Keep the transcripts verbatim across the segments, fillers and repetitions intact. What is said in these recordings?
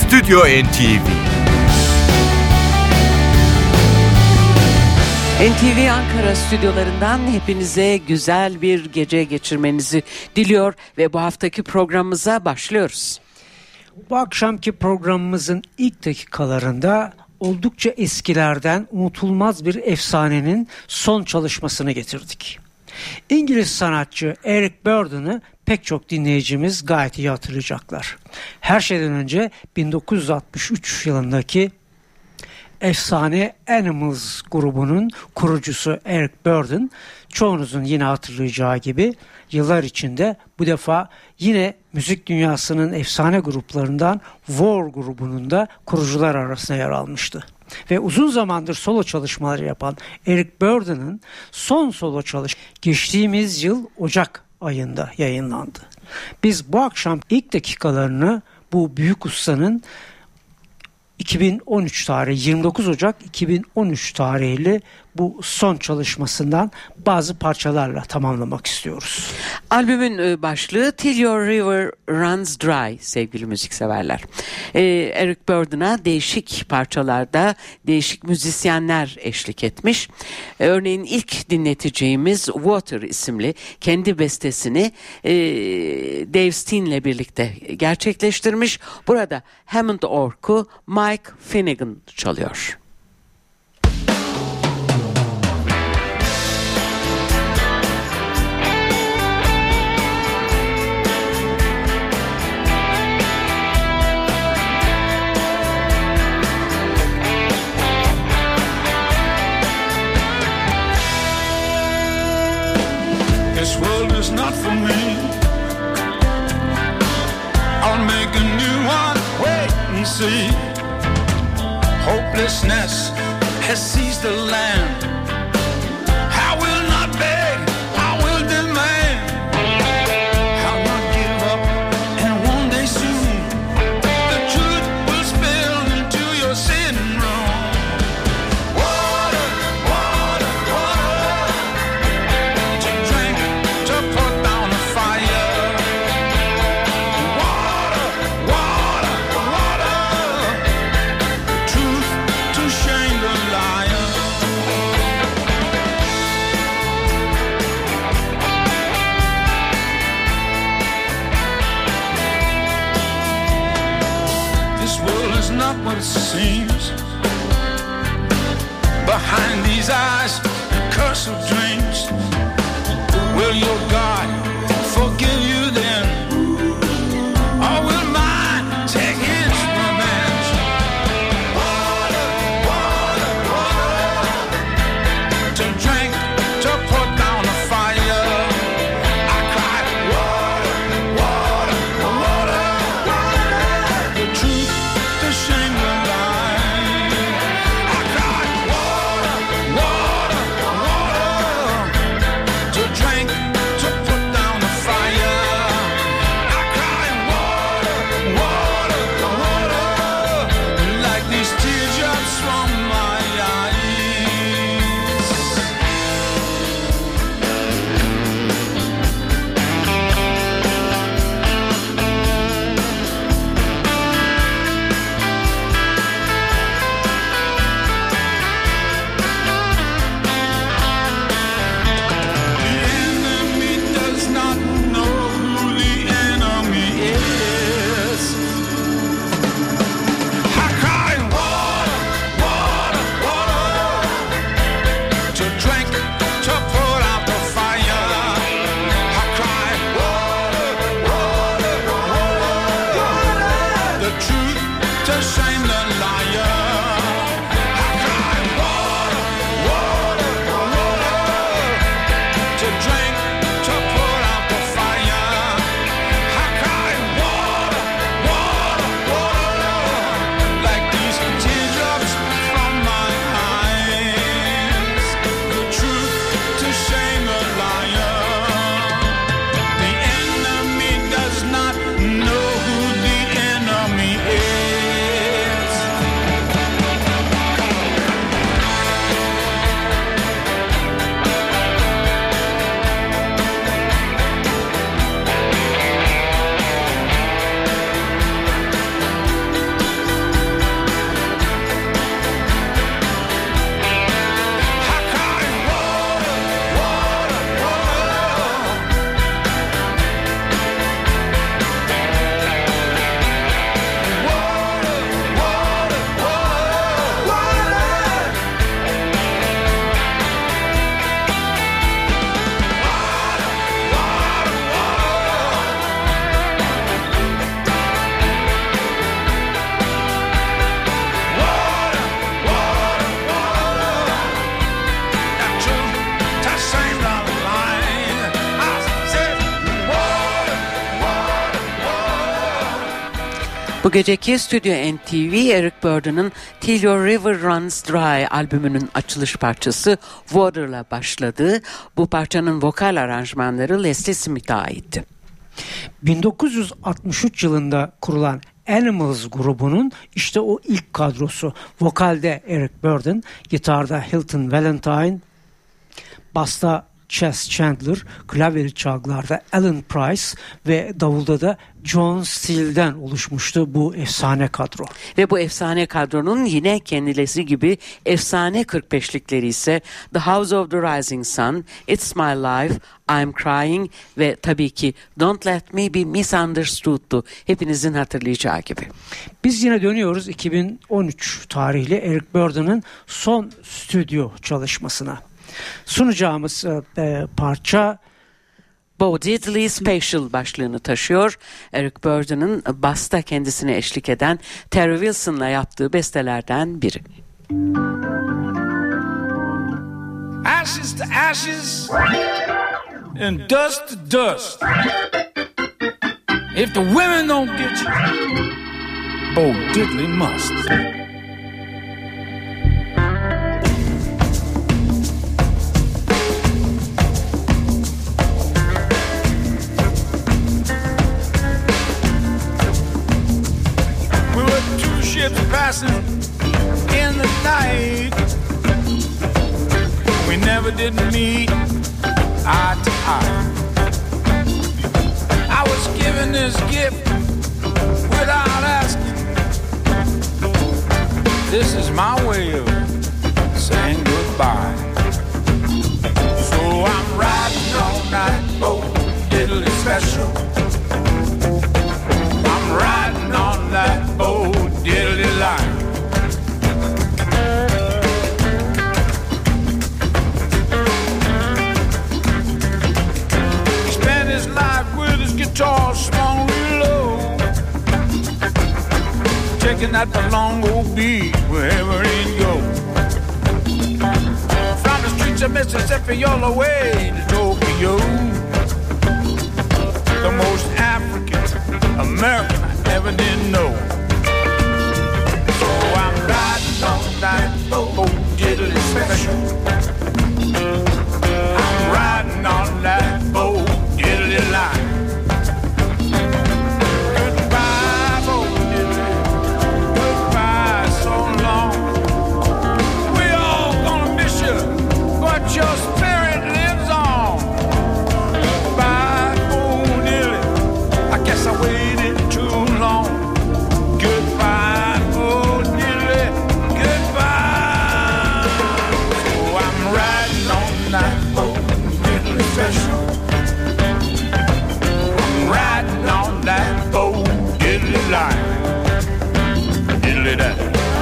Stüdyo N T V. N T V Ankara stüdyolarından hepinize güzel bir gece geçirmenizi diliyor ve bu haftaki programımıza başlıyoruz. Bu akşamki programımızın ilk dakikalarında oldukça eskilerden unutulmaz bir efsanenin son çalışmasını getirdik. İngiliz sanatçı Eric Burdon'ı pek çok dinleyicimiz gayet iyi hatırlayacaklar. Her şeyden önce bin dokuz yüz altmış üç yılındaki efsane Animals grubunun kurucusu Eric Burdon, çoğunuzun yine hatırlayacağı gibi yıllar içinde bu defa yine müzik dünyasının efsane gruplarından War grubunun da kurucular arasında yer almıştı. Ve uzun zamandır solo çalışmaları yapan Eric Burdon'ın son solo çalışması geçtiğimiz yıl Ocak ayında yayınlandı. Biz bu akşam ilk dakikalarını bu büyük ustanın iki bin on üç tarihi yirmi dokuz Ocak iki bin on üç tarihli bu son çalışmasından bazı parçalarla tamamlamak istiyoruz. Albümün başlığı Till Your River Runs Dry sevgili müzikseverler. Ee, Eric Burdon'a değişik parçalarda değişik müzisyenler eşlik etmiş. Ee, örneğin ilk dinleteceğimiz Water isimli kendi bestesini e, Dave Steen'le birlikte gerçekleştirmiş. Burada Hammond orgu Mike Finnegan çalıyor. This world is not for me. I'll make a new one, wait and see. Hopelessness has seized the land. I will not beg, I will demand. I'll not give up, and one day soon the truth will spill into your sitting room. Water, water, water, to drink, to put down a fire. Water, water, water, truth to shame the liar. This world is not what it seems. Behind these eyes, curse of dreams. Will your God forgive you then? Or will mine take his revenge? Water, water, water, to drink, to put down a fire. I cried, water, water, water, the truth to shame the lie. I cried, water, water, water, to drink, to Bu geceki Stüdyo N T V, Eric Burdon'ın Till Your River Runs Dry albümünün açılış parçası Water'la başladı. Bu parçanın vokal aranjmanları Leslie Smith'e aitti. bin dokuz yüz altmış üç yılında kurulan Animals grubunun işte o ilk kadrosu. Vokalde Eric Burdon, gitarda Hilton Valentine, basta Chess Chandler, klavyeli çalgılarda Alan Price ve davulda da John Steele'den oluşmuştu bu efsane kadro. Ve bu efsane kadronun yine kendileri gibi efsane kırk beşlikleri ise The House of the Rising Sun, It's My Life, I'm Crying ve tabii ki Don't Let Me Be Misunderstood'tu. Hepinizin hatırlayacağı gibi. Biz yine dönüyoruz iki bin on üç tarihli Eric Burdon'ın son stüdyo çalışmasına. Sunacağımız e, parça Bo Diddley Special başlığını taşıyor. Eric Burdon'ın basta kendisine eşlik eden Terry Wilson'la yaptığı bestelerden biri. Ashes to ashes and dust to dust. If the women don't get you, Bo Diddley must. Passing in the night, we never did meet eye to eye. I was given this gift without asking. This is my way of saying goodbye. So I'm riding all night, Bo Diddley Special. I'm riding all night, Bo Diddley line. He spent his life with his guitar swung real low, taking that long old beat wherever he'd go. From the streets of Mississippi all the way to Tokyo, the most African American I ever did know. All night, Bo Diddley Special. I'm riding on that Bo Diddley line. Goodbye, Bo Diddley. Goodbye, so long. We all gonna miss you, but your spirit lives on. Goodbye, Bo Diddley. I guess I waited too long. Goodbye, Bo Diddley. Special. I'm riding on that Bo Diddley line. Diddley that.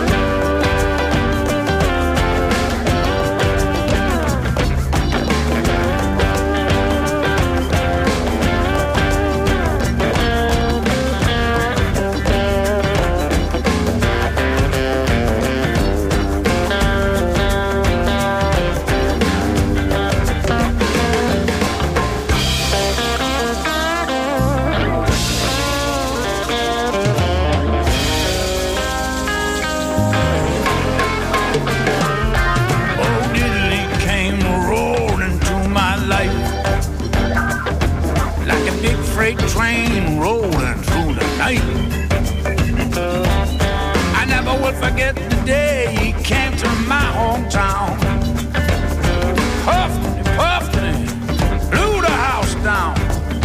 Freight train rolling through the night. I never will forget the day he came to my hometown. Puffed and puffed and blew the house down.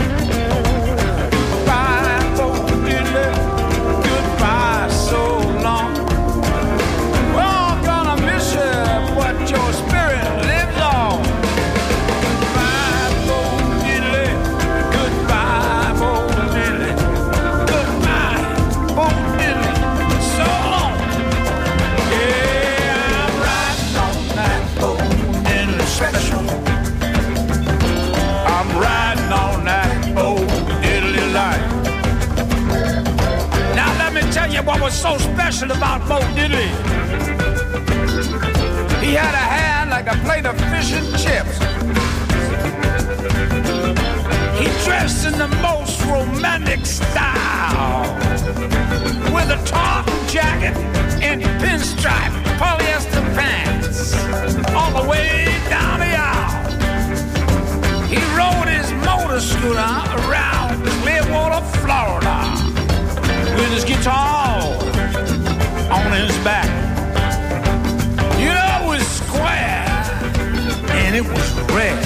Goodbye, Bo Diddley. Goodbye, so long. We're all gonna miss you, but your spirit lives on. Goodbye, Bo Diddley. Goodbye, Bo Diddley. Goodbye, Bo Diddley. So long. Yeah, I'm riding on that Bo Diddley Special. I'm riding on that Bo Diddley line. Now let me tell you what was so special about Bo Diddley. He had a hand like a plate of fish and chips. He dressed in the most romantic style, stood around Clearwater, Florida, with his guitar on his back. You know, it was square and it was red.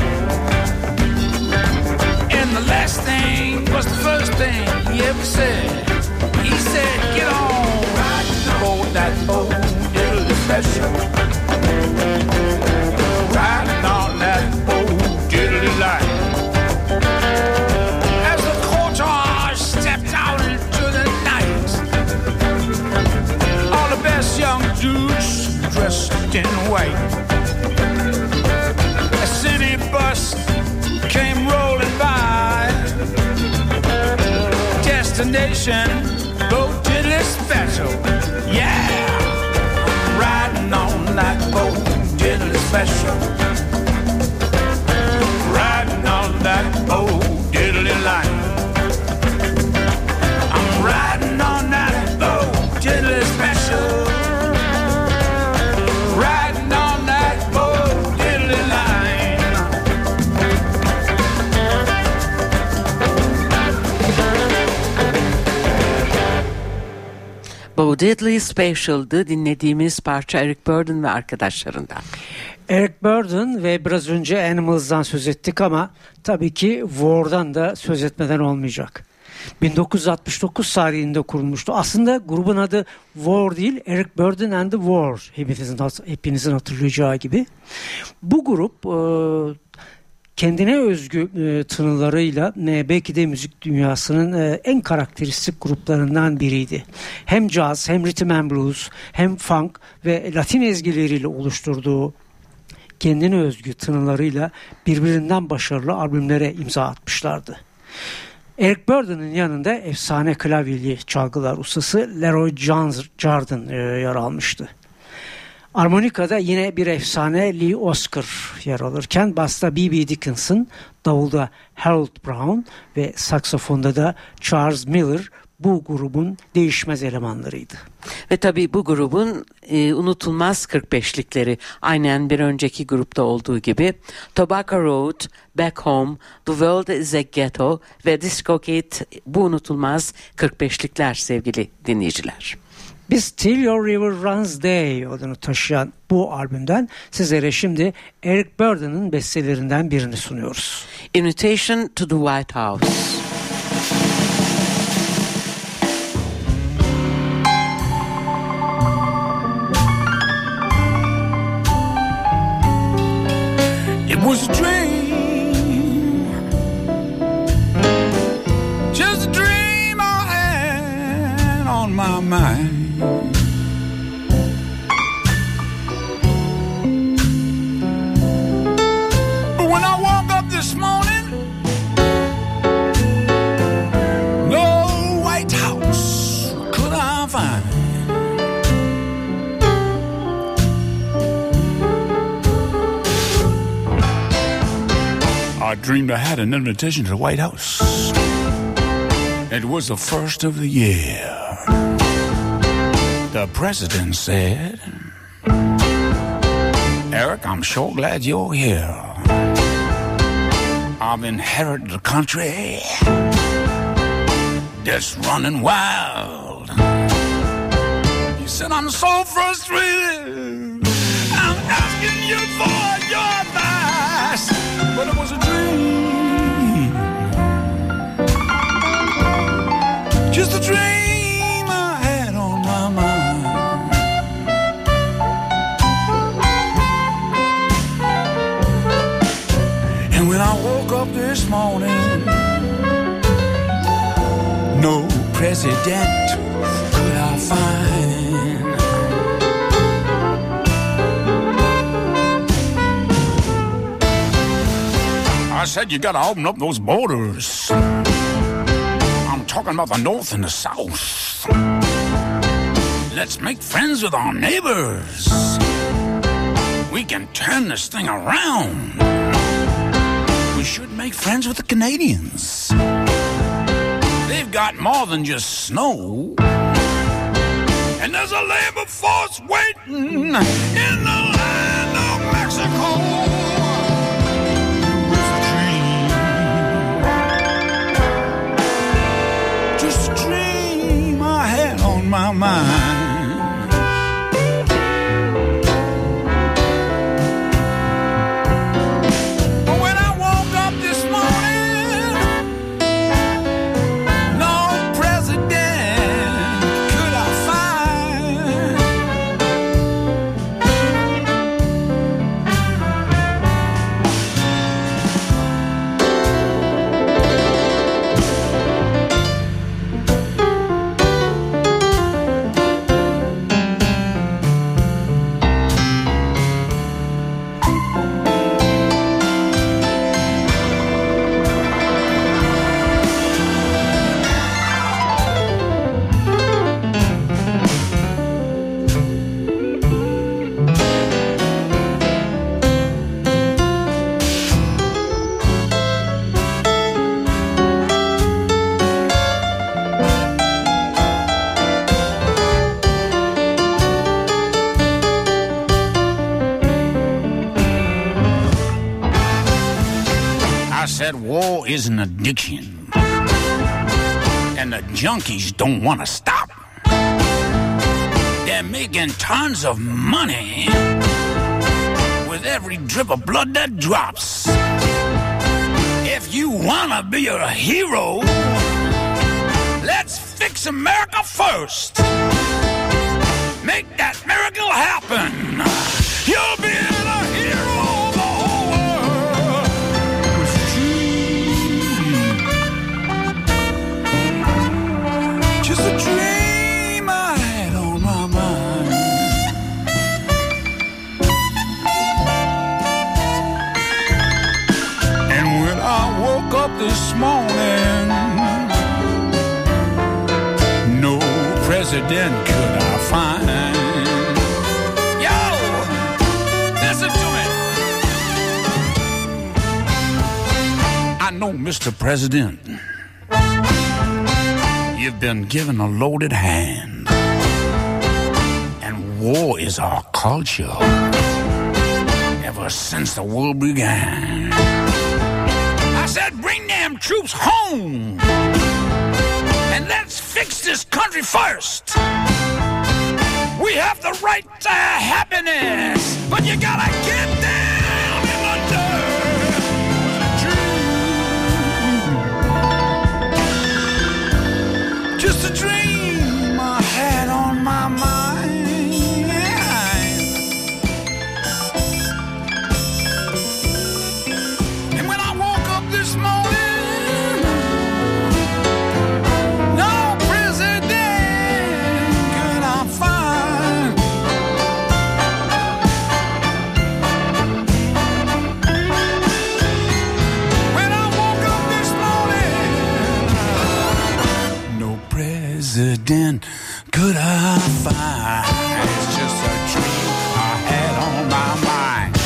And the last thing was the first thing he ever said. He said, get on, ride that boat, it'll be special. Riding on that boat, diddly light. As the cortege stepped out into the night, all the best young dudes dressed in white. A city bus came rolling by. Destination, boat diddly special. Yeah, riding on that boat, diddly special. Riding on that boat, diddly light. I'm riding on that boat, diddly special. Riding on that boat, diddly light. Bo Diddley Special'dı dinlediğimiz parça Eric Burdon ve arkadaşlarından. Eric Burdon ve biraz önce Animals'dan söz ettik ama tabii ki War'dan da söz etmeden olmayacak. bin dokuz yüz altmış dokuz tarihinde kurulmuştu. Aslında grubun adı War değil, Eric Burdon and the War. Hepinizin, hepinizin hatırlayacağı gibi. Bu grup e, kendine özgü e, tınılarıyla e, belki de müzik dünyasının e, en karakteristik gruplarından biriydi. Hem caz, hem rhythm and blues, hem funk ve Latin ezgileriyle oluşturduğu kendine özgü tınılarıyla birbirinden başarılı albümlere imza atmışlardı. Eric Burdon'un yanında efsane klavyeli çalgılar ustası Leroy Jordan e, yer almıştı. Armonika'da yine bir efsane Lee Oskar yer alırken basta B B Dickinson, davulda Harold Brown ve saksafonda da Charles Miller bu grubun değişmez elemanlarıydı. Ve tabii bu grubun e, unutulmaz kırk beşlikleri aynen bir önceki grupta olduğu gibi Tobacco Road, Back Home, The World is a Ghetto ve Disco Kid bu unutulmaz kırk beşlikler sevgili dinleyiciler. Biz Till Your River Runs Day adını taşıyan bu albümden sizlere şimdi Eric Burdon'un bestelerinden birini sunuyoruz. Invitation to the White House. It was a dream, just a dream I had on my mind. But when I woke up this morning, no White House could I find. I dreamed I had an invitation to the White House. It was the first of the year. The president said, Eric, I'm sure glad you're here. I've inherited the country that's running wild. He said, I'm so frustrated. I'm asking you for your advice. But it was a dream, just a dream I had on my mind. And when I woke up this morning, no president could I find. I said you gotta open up those borders. I'm talking about the North and the South. Let's make friends with our neighbors. We can turn this thing around. We should make friends with the Canadians. They've got more than just snow. And there's a labor force waiting in the land of Mexico. my mind. But when I woke up this morning, no president could I find. I said war is an addiction, and the junkies don't want to stop. They're making tons of money with every drip of blood that drops. If you want to be a hero, let's fix America first. Make that miracle happen. You'll be a hero of the whole world. Just a dream I had on my mind. And when I woke up this morning, no president could I find. Yo, listen to me. I know, Mister President, you've been given a loaded hand, and war is our culture ever since the world began. I said, bring them troops home, and let's fix this country first. We have the right to happiness, but you gotta get down in the dirt. Just a dream I had on my mind. And when I woke up this morning, no president could I find. When I woke up this morning, no president could I find. It's just a dream I had on my mind.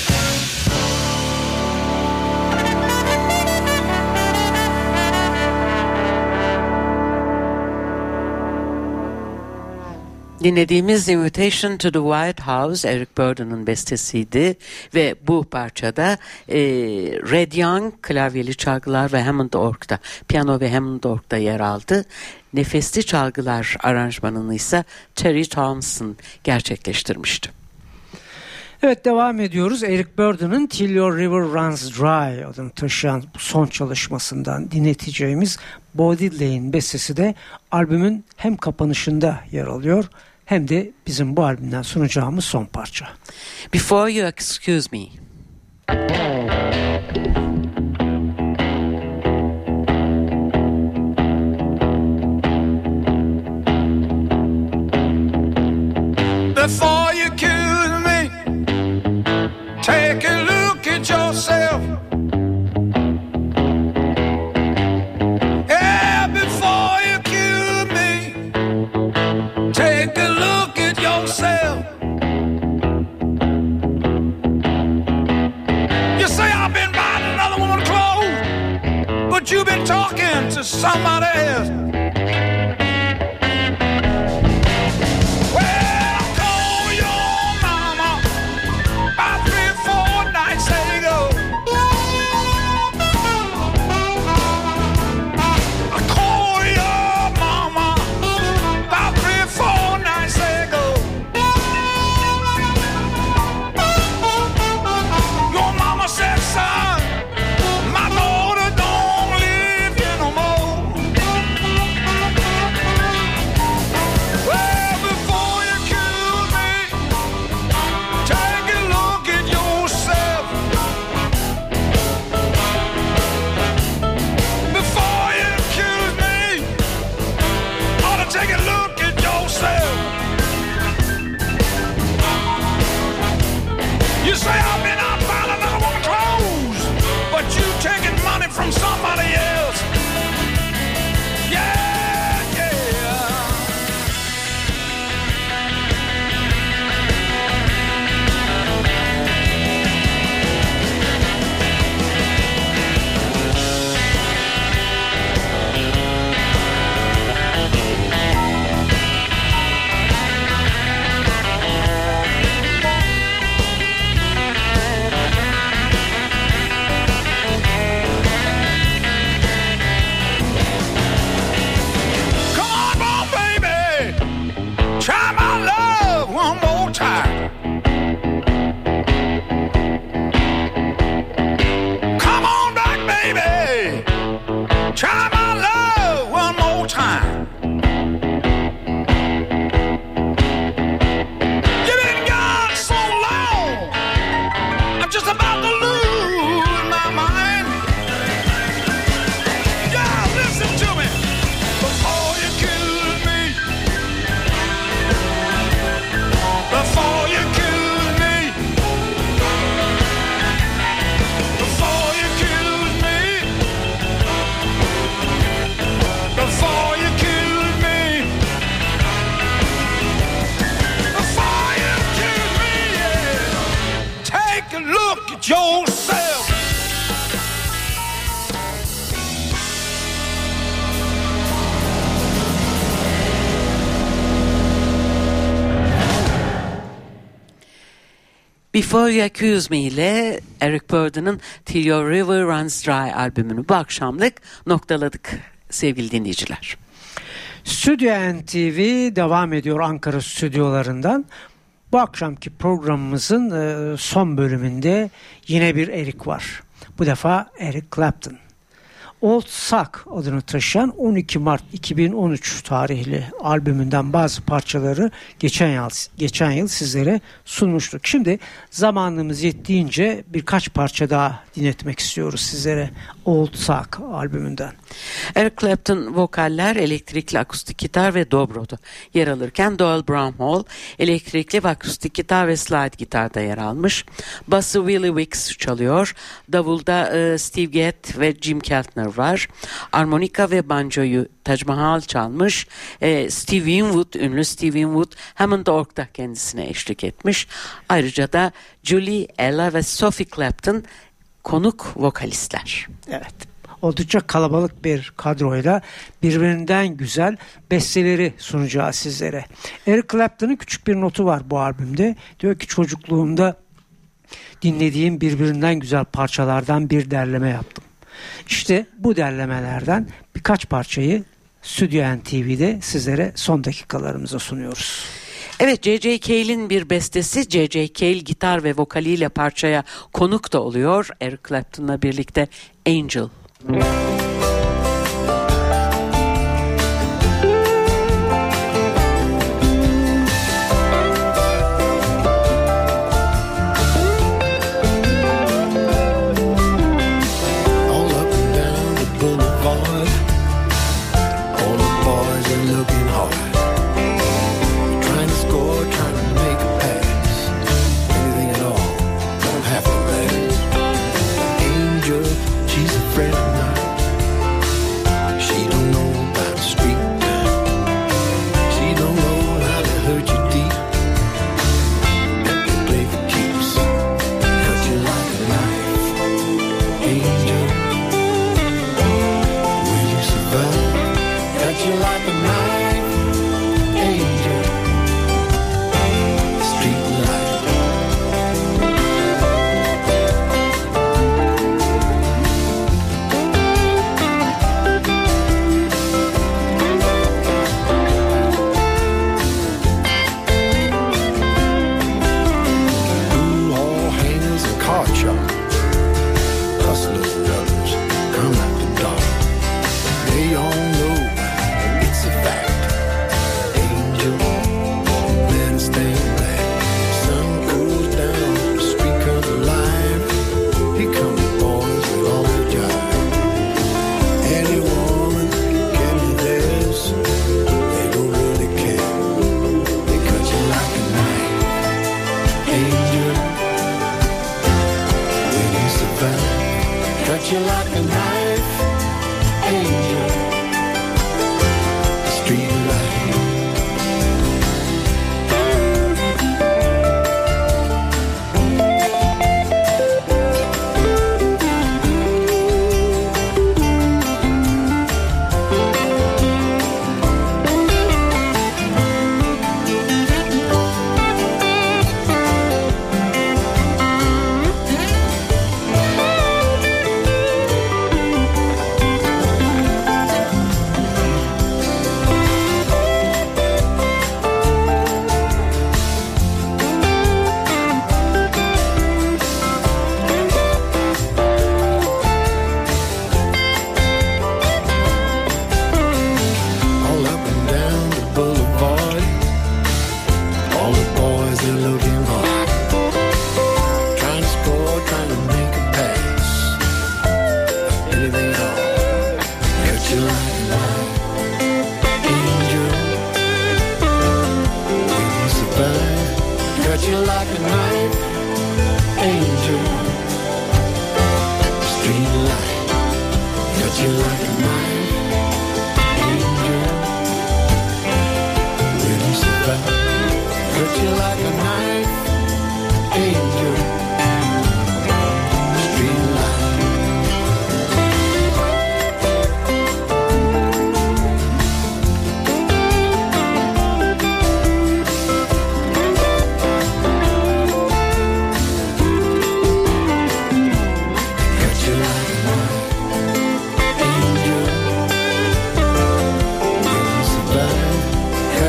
Dinlediğimiz Invitation to the White House Eric Burdon'un bestesiydi ve bu parçada e, Red Young klavyeli çalgılar ve Hammond org'da, piyano ve Hammond org'da yer aldı. Nefesli çalgılar aranjmanını ise Terry Thompson gerçekleştirmişti. Evet, devam ediyoruz. Eric Burdon'un Till Your River Runs Dry adını taşıyan bu son çalışmasından dinleteceğimiz Body Lane bestesi de albümün hem kapanışında yer alıyor hem de bizim bu albümden sunacağımız son parça. Before You Excuse Me. Before you accuse me, take a look at yourself. Yeah, before you accuse me, take a look at yourself. You say I've been buying another woman's clothes, but you've been talking to somebody else. about yourself. Before You Accuse Me ile Eric Burdon'ın Till Your River Runs Dry albümünü bu akşamlık noktaladık sevgili dinleyiciler. Stüdyo N T V devam ediyor Ankara stüdyolarından. Bu akşamki programımızın son bölümünde yine bir Eric var. Bu defa Eric Clapton. Old Sock adını taşıyan on iki Mart iki bin on üç tarihli albümünden bazı parçaları geçen yıl, geçen yıl sizlere sunmuştuk. Şimdi zamanımız yettiğince birkaç parça daha dinletmek istiyoruz sizlere Old Sock albümünden. Eric Clapton vokaller, elektrikli akustik gitar ve dobro'da yer alırken Doyle Bramhall elektrikli ve akustik gitar ve slide gitarda yer almış. Bası Willie Wicks çalıyor. Davulda e, Steve Gadd ve Jim Keltner var. Armonika ve banjoyu Taj Mahal çalmış. E, Steve Winwood, ünlü Steve Winwood Hammond Org'da kendisine eşlik etmiş. Ayrıca da Julie, Ella ve Sophie Clapton konuk vokalistler. Evet. Oldukça kalabalık bir kadroyla birbirinden güzel besteleri sunacağız sizlere. Eric Clapton'ın küçük bir notu var bu albümde. Diyor ki çocukluğumda dinlediğim birbirinden güzel parçalardan bir derleme yaptım. İşte bu derlemelerden birkaç parçayı Stüdyo N T V'de sizlere son dakikalarımıza sunuyoruz. Evet, J J. Cale'in bir bestesi. J J. Cale gitar ve vokaliyle parçaya konuk da oluyor. Eric Clapton'la birlikte Angel.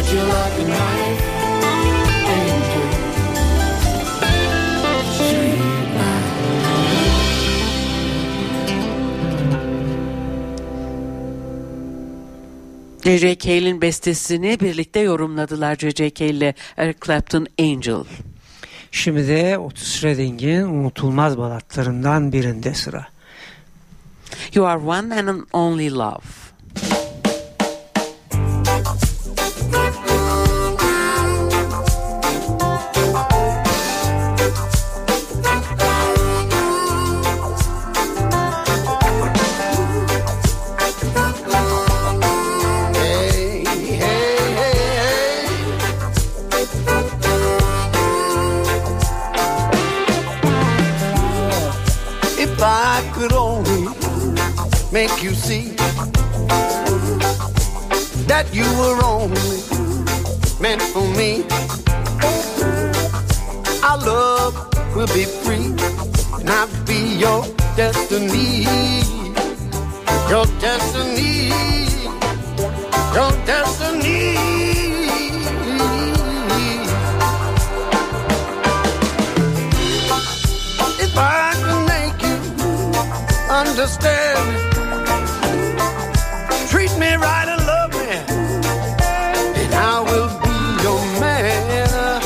But you're like a knife, angel, sweet life. J J. Cale'in bestesini birlikte yorumladılar J J. Cale ile Eric Clapton, Angel. Şimdi de Otis Redding'in unutulmaz balatlarından birinde sıra. You Are One and Only Love. Make you see that you were only meant for me. Our love will be free, and I'll be your destiny. Your destiny. Your destiny. If I can make you understand, treat me right and love me, and I will be your man,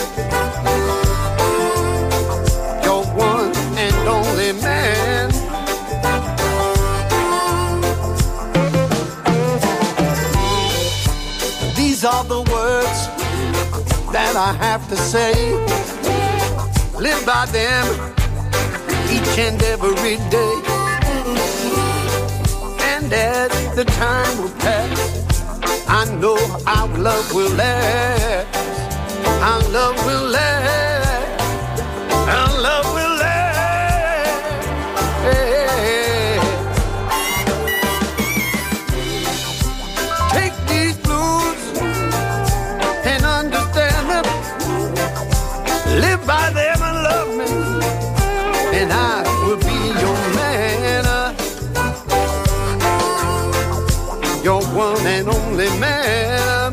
your one and only man. These are the words that I have to say. Live by them each and every day. And as the time will pass, I know our love will last. Our love will last. Our love will last. Hey. Take these blues and understand them. Live by them and love me, and I will be your man. Your one and only man.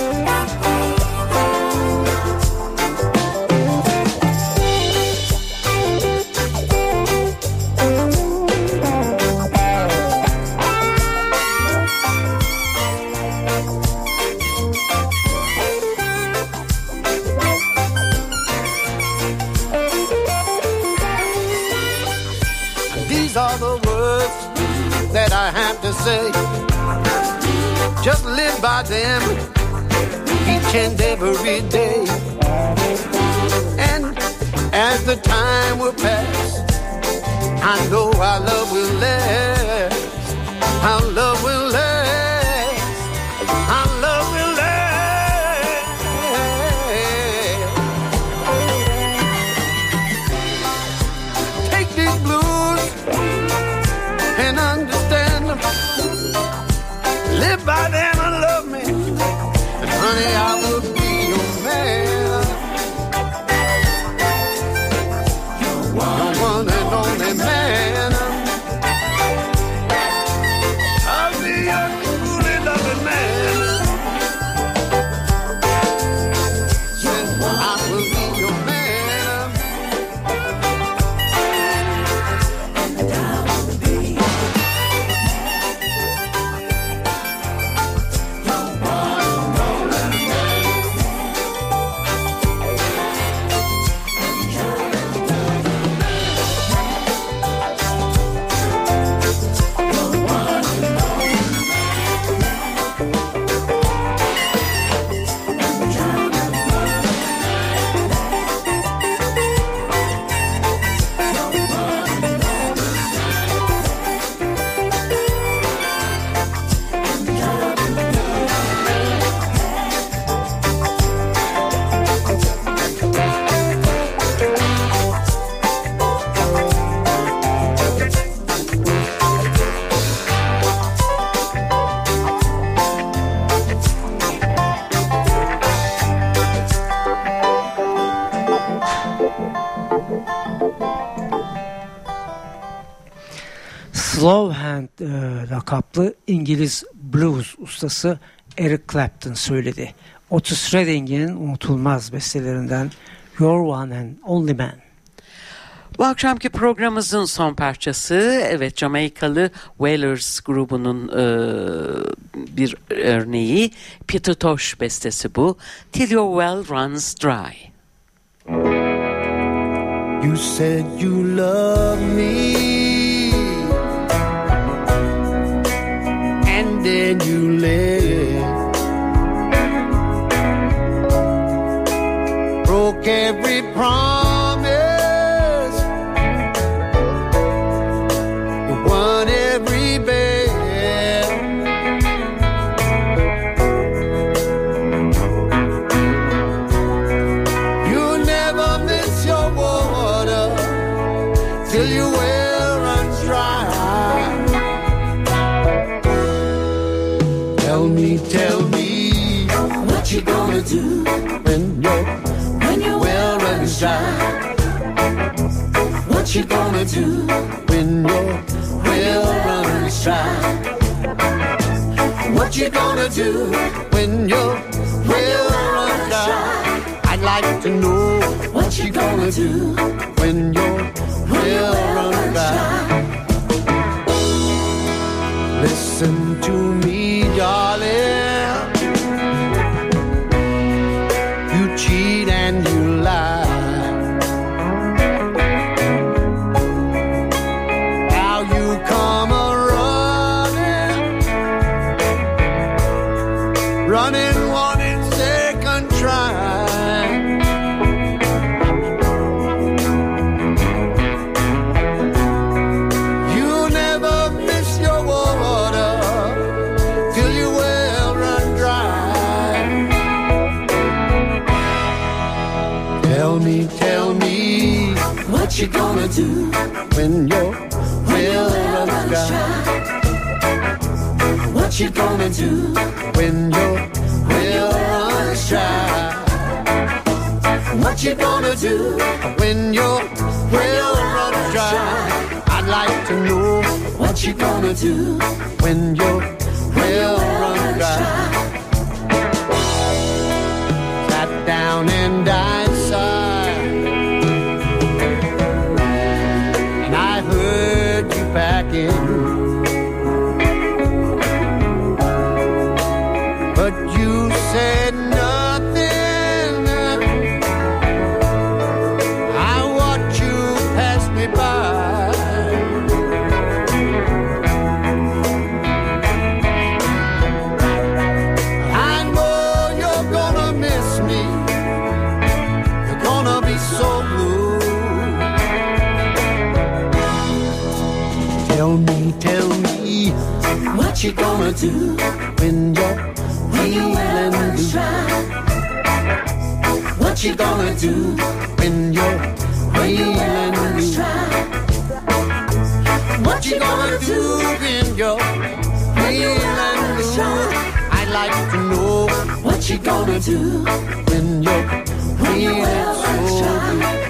These are the words that I have to say. Just live by them each and every day. And as the time will pass, I know our love will last. Our love will last. Our love will last. Take these blues and understand them. Live by them and love me, and honey, I will be your man. Your one and only man. I'll be your truly loving man. I will be your man. And I will be Slow Hand e, lakaplı İngiliz blues ustası Eric Clapton söyledi. Otis Redding'in unutulmaz bestelerinden You're One and Only Man. Bu akşamki programımızın son parçası, evet, Jamaikalı Wailers grubunun e, bir örneği, Peter Tosh bestesi bu. Till Your Well Runs Dry. You said you love me, and then you left, broke every promise, won every bet. You never miss your water till your well runs dry. Tell me, tell me, what you gonna do when your when your well runs dry? What you gonna do when your well runs dry? What you gonna do when your well runs dry? I'd like to know what you gonna do when your well runs dry. Listen to me, darling. You cheat and you lie. Now you come a running, running, wanting second try. You never miss your water till your well run dry. Tell me, tell me, what you gonna do when your well runs dry? What you gonna do when your well runs dry? What you gonna do when your well runs dry? I'd like to know what you gonna do when your well runs dry. Sat down and died sighed, and I heard you packing, but you said nothing. I watched you pass me by. I know you're gonna miss me. You're gonna be so blue. Tell me, tell me, what you gonna do when you're feeling blue? What you gonna do when you're feeling blue? What you gonna do when you're feeling blue? I'd like to know what you gonna do when you're feeling so blue.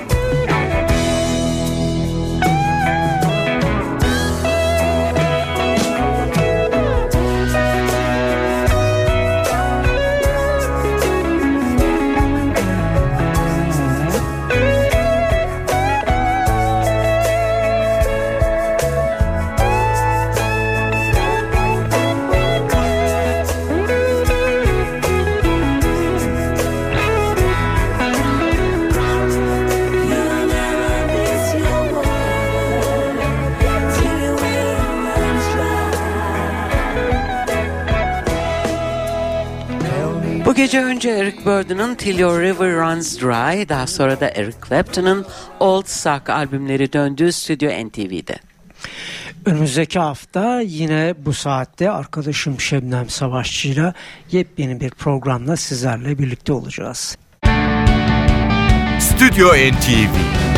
Bu gece önce Eric Burdon'un Till Your River Runs Dry, daha sonra da Eric Clapton'ın Old Sock albümleri döndüğü Stüdyo N T V'de. Önümüzdeki hafta yine bu saatte arkadaşım Şebnem Savaşçı'yla yepyeni bir programla sizlerle birlikte olacağız. Stüdyo N T V